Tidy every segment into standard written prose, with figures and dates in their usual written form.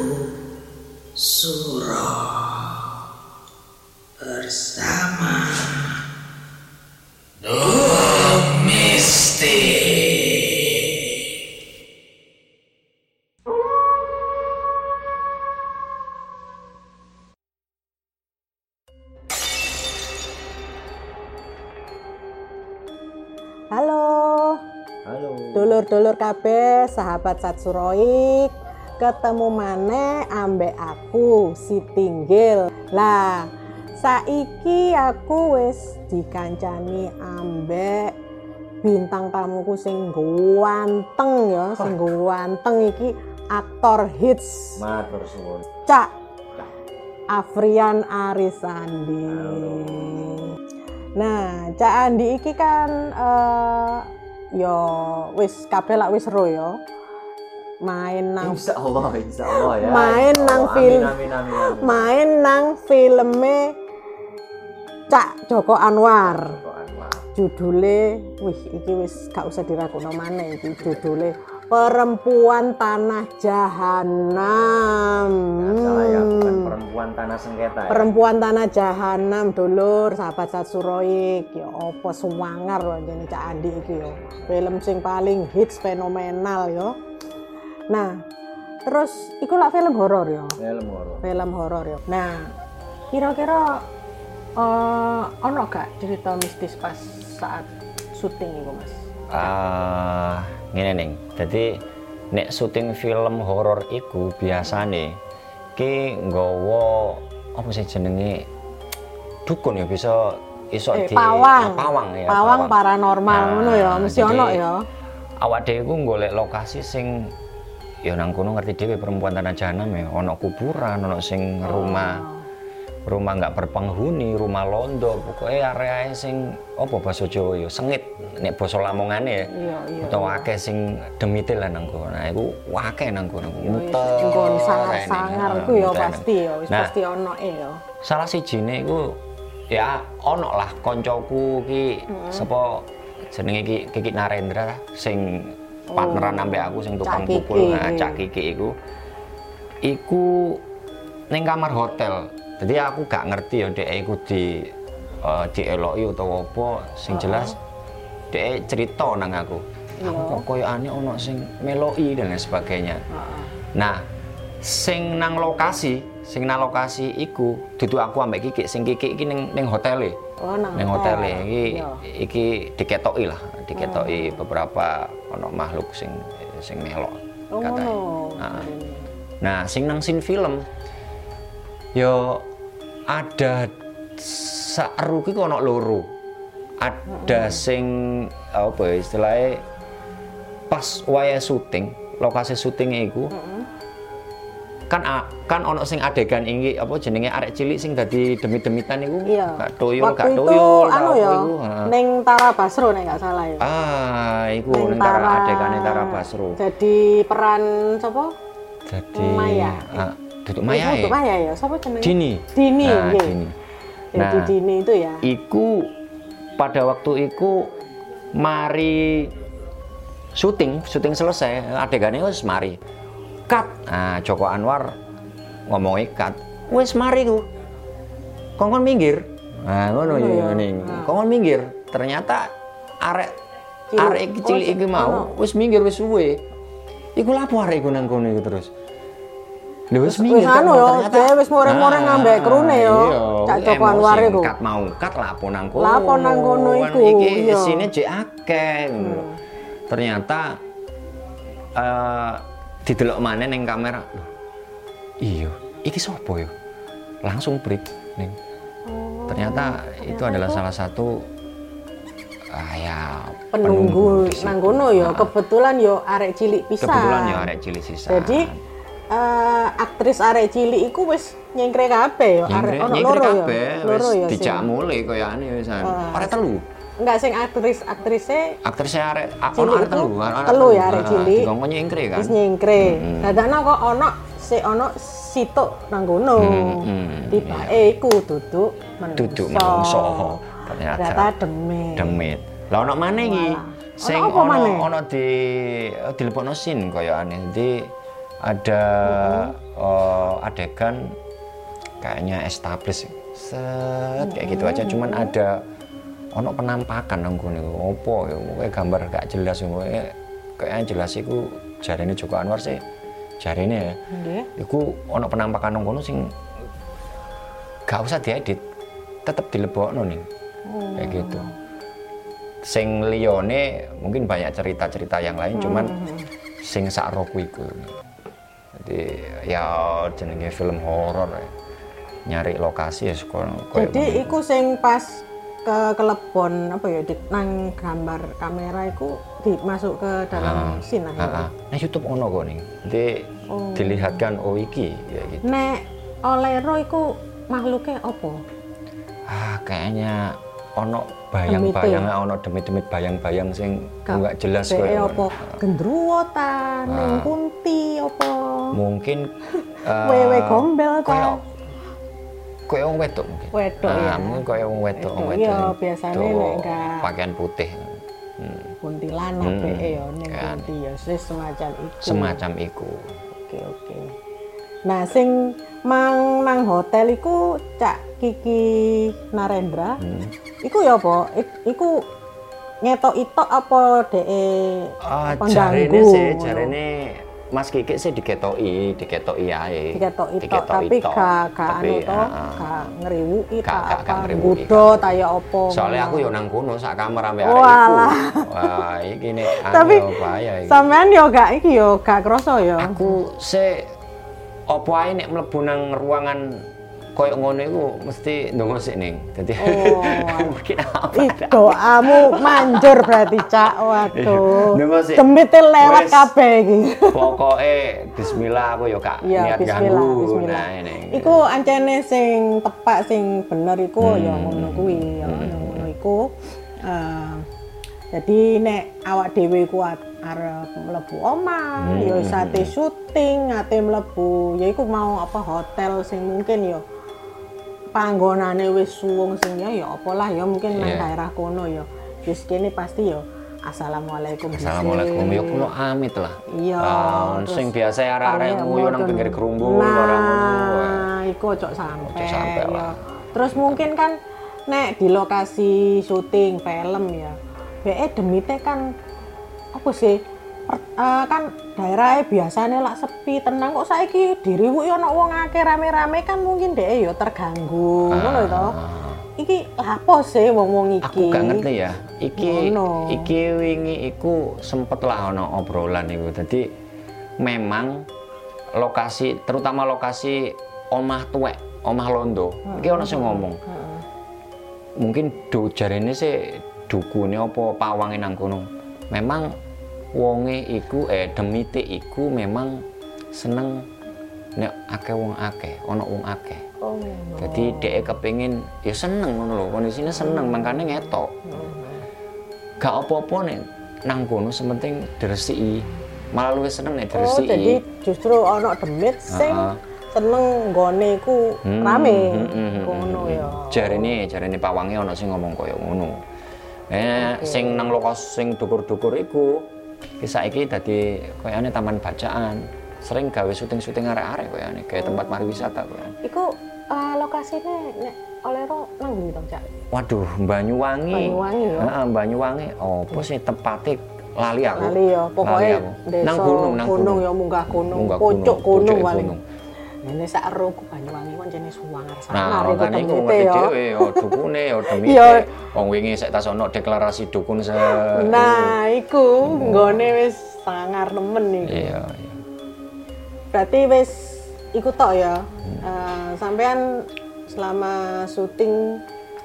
Suro bersama Domestik. Halo. Dulur-dulur kabeh, sahabat Satsuroik. Ketemu maneh ambek aku si Tinggil. Lah, saiki aku wis dikancani ambek bintang tamuku sing ganteng ya, sing ganteng iki aktor hits. Matur suwun. Cak Afrian Arisandi. Nah, Cak Andi iki kan yo wis kabeh lak wis ro yo. Main nang Insyaallah ya. Main nang film. Amin. Main nang filme Cak Joko Anwar. Judule iki wis gak usah dirakokno maneh iki judule Perempuan Tanah Jahanam. Salah ya, bukan Perempuan Tanah Sengketa ya. Perempuan Tanah Jahanam, dulur, sahabat Satsuroik. Ya apa suwangar lho jane Cak Andi iki yo. Film sing paling hits fenomenal yo. Nah, terus iku lak film horor yo. Film horor yo. Nah, kira-kira ono gak cerita mistis pas saat syuting iku, Mas? Ngene ning. Dadi nek syuting film horor iku biasane ki nggawa apa sih jenenge dukun ya bisa iso di pawang ya. Pawang paranormal ngono ya, mesti ono ya. Awak dhewe ku golek lokasi sing ya nang kono ngerti dhewe Perempuan Tanah Jahanam ya, ono kuburan, ono sing rumah nggak berpenghuni, rumah londo, pokoknya area sing apa bahasa Jawa ya sengit, nek basa Lamongane ya. Iya. Utawa akeh sing demite lah nang kono. Nah, iku akeh nang kono. Muter. Nggon sangar iku ya pasti ya, wis pasti ono ya. Salah sijine iku ya ono lah koncoku ki sapa jenenge Kiki Narendra sing partneran ambek aku sing tukang pukul, Cak Kiki iku. Iku ning kamar hotel. Jadi aku gak ngerti ya dhek iku dieloki utawa apa, sing jelas dhek cerita nang aku. Aku kok koyokane ono sing meloki dan lain sebagainya. Nah, sing nang lokasi iku dudu aku ambek Kiki, sing Kiki iki ning hotele. Ning hotele iki diketoki beberapa ono makhluk sing melok katanya. Nah, sing nang scene film yo ada saru ki ono loro. Ada sing apa istilahnya pas waya syuting, lokasi syutingnya iku kan ono sing adegan iki apa jenenge arek cilik sing dadi demit-demitan iku gak toyol anu ya ning Tara Basro nek gak salah ya. Iku ning adegane Tara Basro. Jadi peran sapa? Jadi Maya. Duduk Maya ya, siapa jenenge? Dini. Dini. Nah, Dini itu ya. Iku pada waktu iku mari syuting selesai, adegannya wis mari. Cut. Nah, Joko Anwar ngomongin cut. Wis mari ku. Kongkon minggir. Nah, ngono ya ning. Kongkon minggir. Ternyata arek cilik iki mau wis minggir wis suwe. Iku lapo arek iku nang kono iku terus. Wis minggir anu yo, dhewe wis moreng-moreng ngambek krune yo. Cak Joko Anwar iku. Kat lapo nang kono. Lapo nang kono iku. Iki isine jek akeh. Ternyata didelok maneh ning kamera. Loh. Iya, iki sapa yo? Langsung break ning. Ternyata itu adalah salah satu penunggu nang kono yo. Kebetulan yo arek cilik pisan. Jadi aktris arek cilik iku wis nyengkre kabeh yo, arek ono loro yo. Wis dijak mulih koyane wisan. Arek telu. Enggak sing aktrise arek ono arek telu. Telu ya arek cilik. Dikongkon nyengkre kan. Wis nyengkre. Dadakno kok ono situk nang kono. Tibake iku duduk menungso. Ternyata demit. Lah ono maneh iki. Sing ono dilepokno scene koyokane. Dadi ada adegan kayaknya establis set kayak gitu aja, cuman ada ono penampakan nang kono opo ya kowe gambar gak jelas kowe kayaknya jelas iku jarene Joko Anwar sih jarene ya. Iku ono penampakan nang kono sing gak usah diedit, tetep dilebokno nih. Kayak gitu. Sing liyane mungkin banyak cerita-cerita yang lain cuman sing sak roku iku. Jadi ya jenenge film horor ya. Nyari lokasi ya koyo. Jadi iku sing pas ke kelebon apa ya nang gambar kamera iku dimasuk ke dalam scene akhirnya. Nah YouTube ono kok nih. Jadi dilihatkan oh iki ya gitu. Nek Olero iku makhluknya opo? Kayaknya ono bayang-bayang, ono demit-demit bayang-bayang sing enggak jelas koyo opo. Gendruwo ta, ning kunti opo? Mungkin wewe gombel ta. Koyo wong wedok mungkin. Wedok ya. Mungkin koyo wong wedok. Iya, biasane nek enggak pakaian putih. Kuntilanak ya ning kunti ya semacam iku. Semacam iku. Oke. Nah, sing mang nang hotel iku Cak Kiki Narendra. Iku ya apa? Iku ngetok itok apa dhek jarene Mas Kiki sih diketoki ae. Diketoki tok tapi gak anu to, gak ngriwuki ta apa. Nggodho ta ya apa. Soale aku yo nang kono sak kamar ambek arek iku. Wah, iki nek tapi bahaya iki. Sampean yo gak iki yo gak krasa yo. Aku sih opo ae nek mlebu nang ruangan koyo ngono iku mesti ndonga sik ning. Dadi mungkin apa. Doamu manjur berarti Cak. Waduh. Ndonga sik. Demite lewat kabeh iki. Pokoke bismillah aku yo gak niat ganggu. Nah ini. Iku ancene sing tepak sing bener iku ya ngono kuwi ya ngono iku. Jadi nek awak dhewe ku arep mlebu omah, ya sate syuting, ate mlebu, ya iku mau apa hotel sing mungkin ya panggonane wis suwung sing ya apalah ya mungkin nang daerah kono ya. Wis kene pasti ya assalamualaikum. Assalamualaikum yo kulo amit lah. Iya. Sing biasa arek-arek nguyu nang pinggir gerumbung ora ngono. Nah, iku ojo sampe ya. Terus mungkin kan nek di lokasi syuting film ya. Demite kan apa sih kan daerahnya biasanya lah sepi tenang kok saiki diriwuki ana wong akeh rame-rame kan mungkin dhek ya terganggu ngono to. Iki apa sih wong-wong iki? Aku gak ngerti ya. Iki wingi iku sempet lah ana obrolan iku. Dadi memang lokasi terutama lokasi omah tuwek, omah londo. Iki ana sing ngomong. Mungkin jarene sih dukune apa pawange nang kono. Memang wonge iku demite iku memang seneng nek akeh wong akeh, ana wong akeh. Jadi dhek kepengin ya seneng ngono lho, kondisine seneng mangkane ngetok. Gak apa-apa nek nang kono sementing diresiki. Malah luwih seneng nek diresiki. Jadi justru ana demit sing seneng nggone iku rame. Ngono ya. Jarene pawange ana sing ngomong kaya ngono. Sing nang lokasi sing dukur-dukur iku saiki dadi koyane taman bacaan. Sering gawe syuting-syuting arek-arek koyane, kayak tempat pariwisata koyane. Iku lokasine nek Olero nang ndi to, Cak? Waduh, Banyuwangi. Banyuwangi ya. Heeh, Banyuwangi. Opo sih tepate lali aku. Lali ya, pokoke desa nang gunung ya munggah gunung, pucuk gunung paling. Ini sak roku Banyuwangi kan jenenge suwangar-sangar iku kan iku ngerti dhewe ya dukune ya demite. Wong wingi sik tas ono deklarasi dukun se. Nah, iku nggone wis sangar nemen iku. Iya. Berarti wis iku tok ya. Sampean selama syuting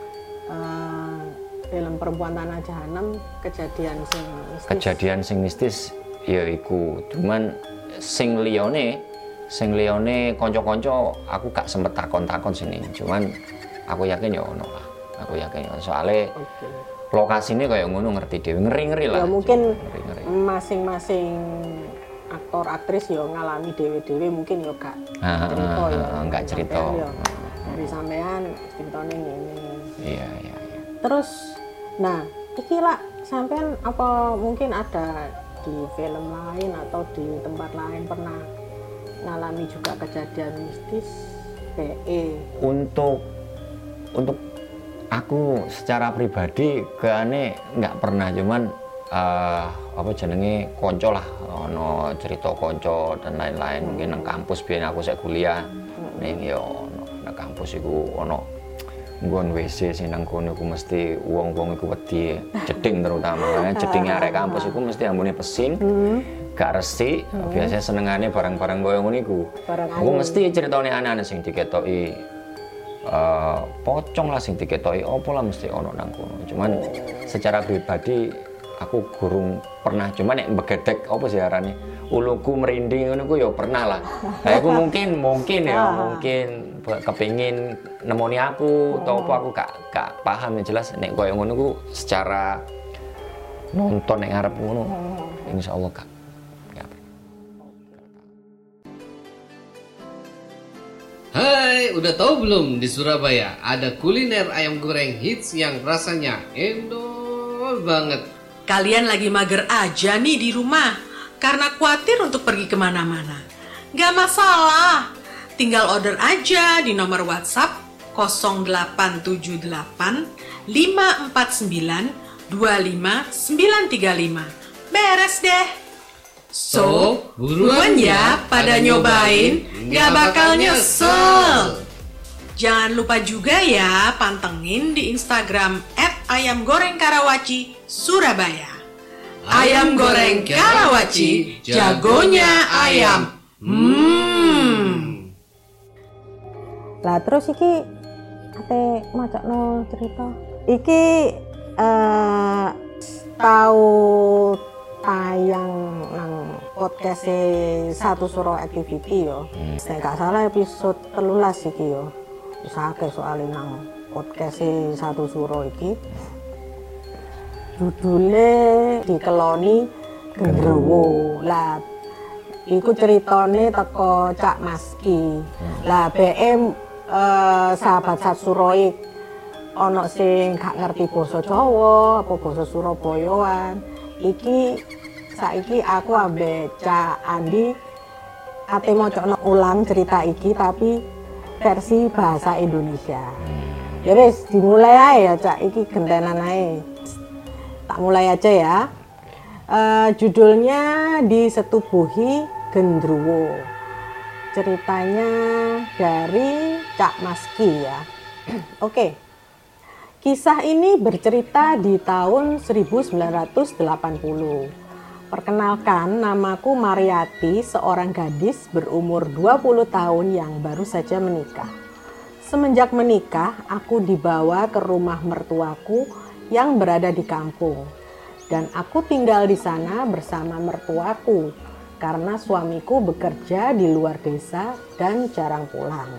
film Perempuan Tanah Jahanam kejadian sing mistis ya iku. Cuman sing liyane kanca-kanca aku gak sempet takon-takon sini. Cuman aku yakin ya ono lah. Aku yakin soalnya lokasinya kayak ngono ngerti dhewe, ngeri-ngeri lah. Ya mungkin masing-masing aktor aktris ya ngalami dhewe-dhewe mungkin ya gak cerita ya. Enggak cerita. Dari sampean ceritane ngene. Iya. Terus nah, iki lah sampean apa mungkin ada di film lain atau di tempat lain pernah ngalami juga kejadian mistis PE? Untuk aku secara pribadi keane nggak pernah, cuman apa jenenge konco lah, ono cerita konco dan lain-lain. Mungkin nang kampus biyen aku sik kuliah ning yo nang kampus iku ono nggon WC sing nang kono iku mesti wong-wong iku wedi jeding, terutama jedinge arek kampus iku mesti ambune pesing. Gak resik, biasanya senengane barang-barang koyo ngono iku. Aku mesti ceritane aneh-aneh sing diketoki pocong lah, sing diketoki opo lah mesti ono nang kono. Cuman secara pribadi aku gurung pernah, cuman nek begedek apa sih arane uluku merinding ngono ku ya pernah lah. Nah aku mungkin kepengin nemoni aku atau apa, aku gak paham. Yang jelas nek koyo ngono ku secara nonton nek ngarep ngono insyaallah gak. Hai, udah tahu belum di Surabaya ada kuliner ayam goreng hits yang rasanya endol banget. Kalian lagi mager aja nih di rumah karena khawatir untuk pergi kemana-mana. Gak masalah, tinggal order aja di nomor WhatsApp 0878 549 25935. Beres deh. So, buruan ya pada nyobain, gak bakal nyesel. Jangan lupa juga ya pantengin di Instagram @ayamgorengkarawaci Surabaya. Ayam goreng Karawaci, jagonya ayam. Lah terus iki ate macakno cerita. Iki tahu tayang nang podcast Satu Suro Activity yo. Nek gak salah episode 13 iki yo. Wis akeh soalé nang podcast Satu Suro iki. Judule dikeloni Gendruwo. Lah iku ceritane teko Cak Maski. Lah BM sahabat Satu Suro ana sing gak ngerti basa Jawa apa basa Surabayaan. Iki saiki aku ambek Cak Andi ate mocokno ulang cerita iki tapi versi bahasa Indonesia. Ya wis dimulai ae ya Cak, iki gentenan ae. Tak mulai aja ya. Judulnya Disetubuhi Gendruwo. Ceritanya dari Cak Maski ya. Oke. Kisah ini bercerita di tahun 1980. Perkenalkan, namaku Mariati, seorang gadis berumur 20 tahun yang baru saja menikah. Semenjak menikah, aku dibawa ke rumah mertuaku yang berada di kampung. Dan aku tinggal di sana bersama mertuaku karena suamiku bekerja di luar desa dan jarang pulang.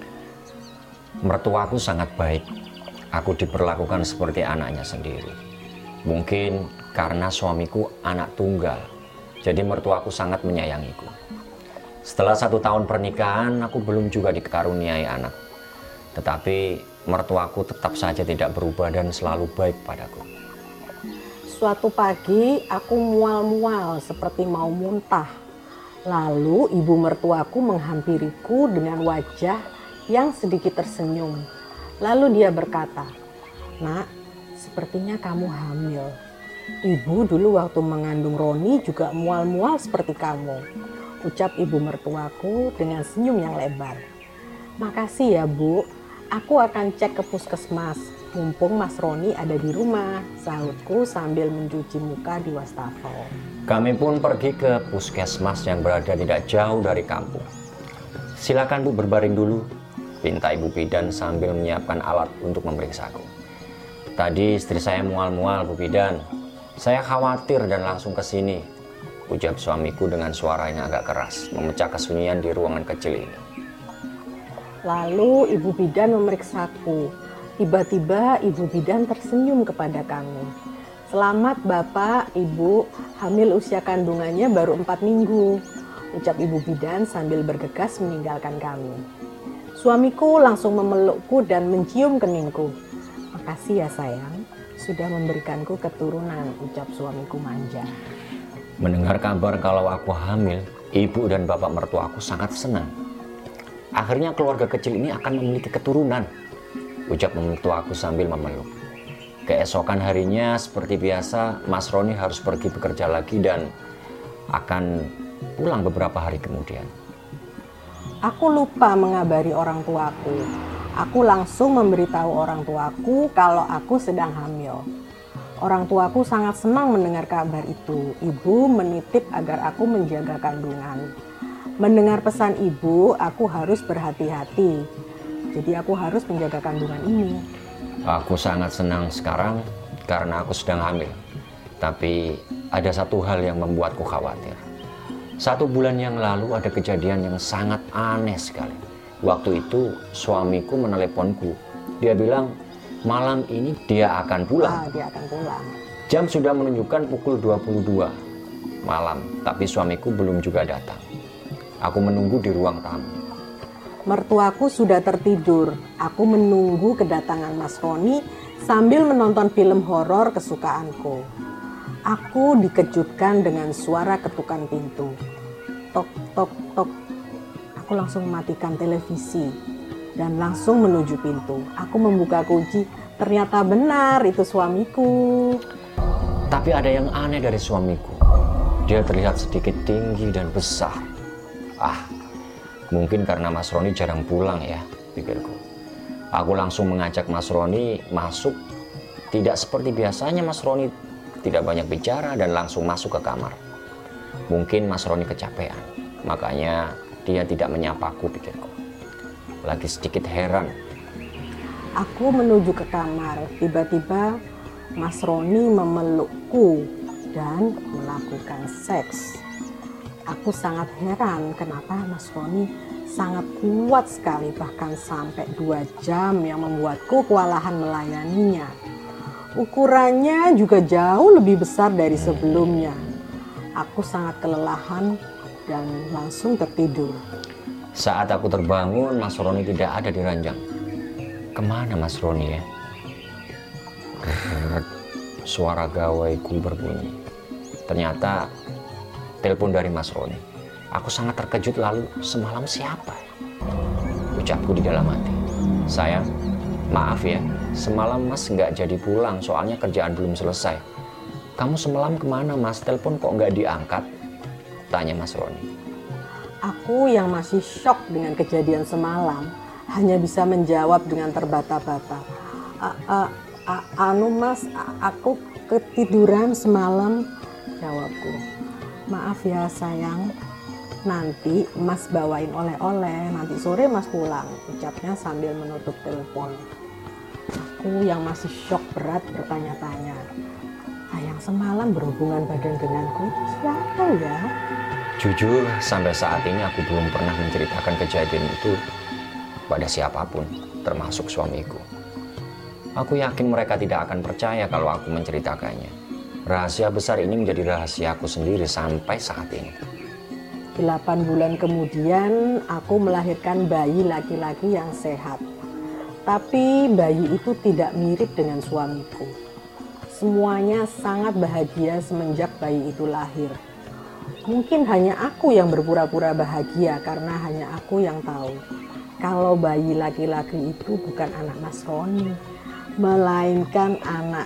Mertuaku sangat baik. Aku diperlakukan seperti anaknya sendiri. Mungkin karena suamiku anak tunggal, jadi mertuaku sangat menyayangiku. Setelah 1 tahun pernikahan, aku belum juga dikaruniai anak. Tetapi mertuaku tetap saja tidak berubah dan selalu baik padaku. Suatu pagi aku mual-mual seperti mau muntah. Lalu ibu mertuaku menghampiriku dengan wajah yang sedikit tersenyum. Lalu dia berkata, "Nak, sepertinya kamu hamil. Ibu dulu waktu mengandung Roni juga mual-mual seperti kamu," ucap ibu mertuaku dengan senyum yang lebar. "Makasih ya Bu, aku akan cek ke puskesmas, mumpung Mas Roni ada di rumah," sahutku sambil mencuci muka di wastafel. Kami pun pergi ke puskesmas yang berada tidak jauh dari kampung. "Silakan Bu berbaring dulu," pinta Ibu Bidan sambil menyiapkan alat untuk memeriksaku. "Tadi istri saya mual-mual, Bu Bidan. Saya khawatir dan langsung ke sini," ucap suamiku dengan suara yang agak keras, memecah kesunyian di ruangan kecil ini. Lalu Ibu Bidan memeriksaku. Tiba-tiba Ibu Bidan tersenyum kepada kami. "Selamat Bapak, Ibu, hamil usia kandungannya baru 4 minggu," ucap Ibu Bidan sambil bergegas meninggalkan kami. Suamiku langsung memelukku dan mencium keningku. "Makasih ya sayang, sudah memberikanku keturunan," ucap suamiku manja. Mendengar kabar kalau aku hamil, Ibu dan bapak mertuaku sangat senang. Akhirnya keluarga kecil ini akan memiliki keturunan, ucap mertuaku sambil memeluk. Keesokan harinya seperti biasa, Mas Roni harus pergi bekerja lagi dan akan pulang beberapa hari kemudian. Aku lupa mengabari orang tuaku. Aku langsung memberitahu orang tuaku kalau aku sedang hamil. Orang tuaku sangat senang mendengar kabar itu. Ibu menitip agar aku menjaga kandungan. Mendengar pesan ibu, aku harus berhati-hati. Jadi aku harus menjaga kandungan ini. Aku sangat senang sekarang karena aku sedang hamil. Tapi ada satu hal yang membuatku khawatir. 1 bulan yang lalu ada kejadian yang sangat aneh sekali. Waktu itu suamiku meneleponku. Dia bilang malam ini dia akan pulang. Dia akan pulang. Jam sudah menunjukkan pukul 22 malam, tapi suamiku belum juga datang. Aku menunggu di ruang tamu. Mertuaku sudah tertidur. Aku menunggu kedatangan Mas Roni sambil menonton film horor kesukaanku. Aku dikejutkan dengan suara ketukan pintu. Tok, tok, tok. Aku langsung mematikan televisi dan langsung menuju pintu. Aku membuka kunci. Ternyata benar itu suamiku. Tapi ada yang aneh dari suamiku. Dia terlihat sedikit tinggi dan besar. Mungkin karena Mas Roni jarang pulang ya, pikirku. Aku langsung mengajak Mas Roni masuk. Tidak seperti biasanya Mas Roni tidak banyak bicara dan langsung masuk ke kamar. Mungkin Mas Roni kecapean, makanya dia tidak menyapaku, pikirku. Lagi sedikit heran. Aku menuju ke kamar. Tiba-tiba Mas Roni memelukku dan melakukan seks. Aku sangat heran kenapa Mas Roni sangat kuat sekali, bahkan sampai 2 jam yang membuatku kewalahan melayaninya. Ukurannya juga jauh lebih besar dari sebelumnya. Aku sangat kelelahan dan langsung tertidur. Saat aku terbangun, Mas Roni tidak ada di ranjang. Kemana Mas Roni ya? Suara gawaiku berbunyi. Ternyata telepon dari Mas Roni. Aku sangat terkejut, lalu semalam siapa? Ucapku di dalam hati. Sayang, maaf ya, semalam Mas nggak jadi pulang soalnya kerjaan belum selesai. Kamu semalam kemana Mas? Telepon kok nggak diangkat? Tanya Mas Roni. Aku yang masih shock dengan kejadian semalam hanya bisa menjawab dengan terbata-bata. Mas, aku ketiduran semalam, jawabku. Maaf ya sayang, nanti Mas bawain oleh-oleh, nanti sore Mas pulang, ucapnya sambil menutup telepon. Aku yang masih shock berat bertanya-tanya, yang semalam berhubungan badan denganku siapa ya? Jujur, sampai saat ini aku belum pernah menceritakan kejadian itu pada siapapun, termasuk suamiku. Aku yakin mereka tidak akan percaya kalau aku menceritakannya. Rahasia besar ini menjadi rahasiaku sendiri sampai saat ini. 8 bulan kemudian aku melahirkan bayi laki-laki yang sehat. Tapi bayi itu tidak mirip dengan suamiku. Semuanya sangat bahagia semenjak bayi itu lahir. Mungkin hanya aku yang berpura-pura bahagia karena hanya aku yang tahu kalau bayi laki-laki itu bukan anak Mas Roni, melainkan anak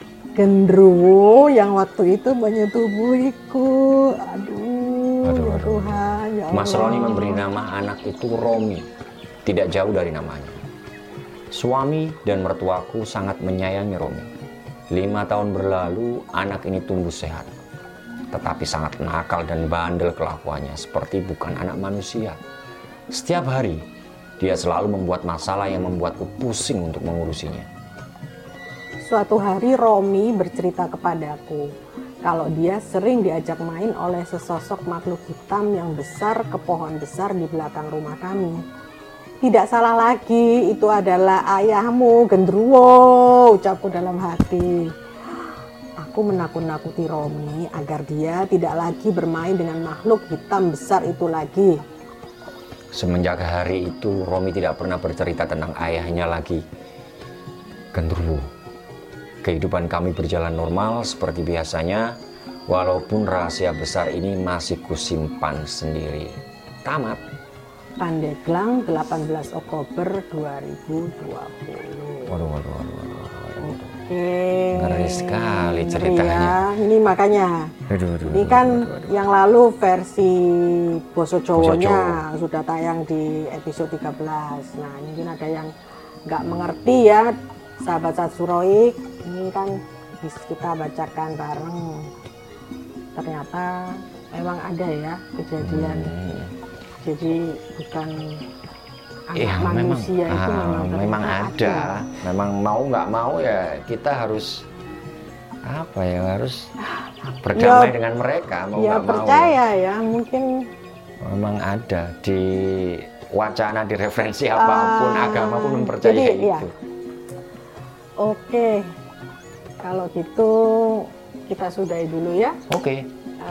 gendruwo yang waktu itu menyetubuhiku. Aduh, ya Tuhan, ya Allah. Mas Roni memberi nama anak itu Romi, tidak jauh dari namanya. Suami dan mertuaku sangat menyayangi Romi. 5 tahun berlalu, anak ini tumbuh sehat, tetapi sangat nakal dan bandel kelakuannya, seperti bukan anak manusia. Setiap hari, dia selalu membuat masalah yang membuatku pusing untuk mengurusinya. Suatu hari Romi bercerita kepadaku kalau dia sering diajak main oleh sesosok makhluk hitam yang besar ke pohon besar di belakang rumah kami. Tidak salah lagi, itu adalah ayahmu, gendruwo, ucapku dalam hati. Aku menakut-nakuti Romi agar dia tidak lagi bermain dengan makhluk hitam besar itu lagi. Semenjak hari itu, Romi tidak pernah bercerita tentang ayahnya lagi. Gendruwo. Kehidupan kami berjalan normal seperti biasanya. Walaupun rahasia besar ini masih kusimpan sendiri. Tamat. Pandeglang 18 Oktober 2020. Waduh. Oke. Ngeri sekali Ngeri ceritanya. ya. Ini makanya. Ini kan yang lalu versi Boso Jawanya sudah tayang di episode 13. Nah, mungkin ada yang nggak mengerti ya, sahabat Satsuroik. Ini kan bisa kita bacakan bareng. Ternyata memang ada ya kejadian. Jadi bukan anak manusia itu memang ada. Memang mau nggak mau ya kita harus apa ya, harus berdamai dengan mereka, mau ya nggak mau. percaya ya, mungkin Memang ada di wacana, di referensi apapun, agama pun mempercayai jadi, itu. Ya. Oke, kalau gitu kita sudahi dulu ya. Oke.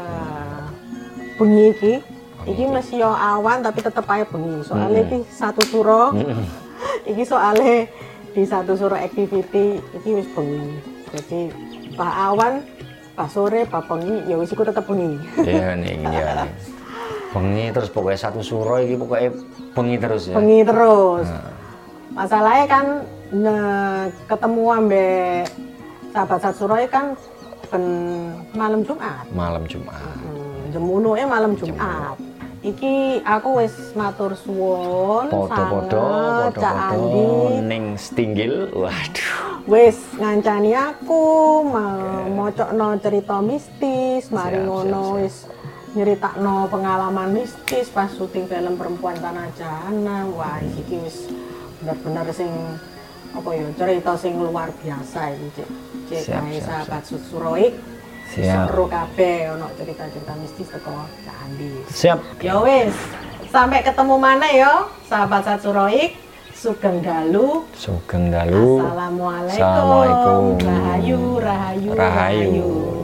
Bengi iki masih yo awan tapi tetep aja bengi. Soalnya iki satu suro. Iki soalnya di satu suro activity iki wis bengi. Jadi pak awan, pak sore, pak bengi ya wis iku tetep bengi. Iya nih, iya nih. Bengi terus pokoknya satu suro iki pokoknya bengi terus ya. Bengi terus. Masalahnya kan ketemu ambek sahabat Satsuroik kan ben malam Jumat. Malam Jumat. Jam 10 malam Jumat. Iki aku wis matur suwun Podo-podo Andi ning Stinggil. Waduh. wis ngancani aku mocokno cerita mistis, mari ngono wis nyeritakno pengalaman mistis pas syuting film Perempuan Tanah Jahanam. Wah, iki wis bener-bener sing apa ya, cerita sing luar biasa iki, Cek. Cek sahabat Satsuroik. Seru kabeh ono cerita-cerita mistis teko Cak Andi. Siap. Ya wis, sampai ketemu mana ya sahabat Satsuroik. Sugeng dalu. Sugeng dalu. Assalamualaikum. Assalamualaikum. Rahayu, rahayu, Rahayu.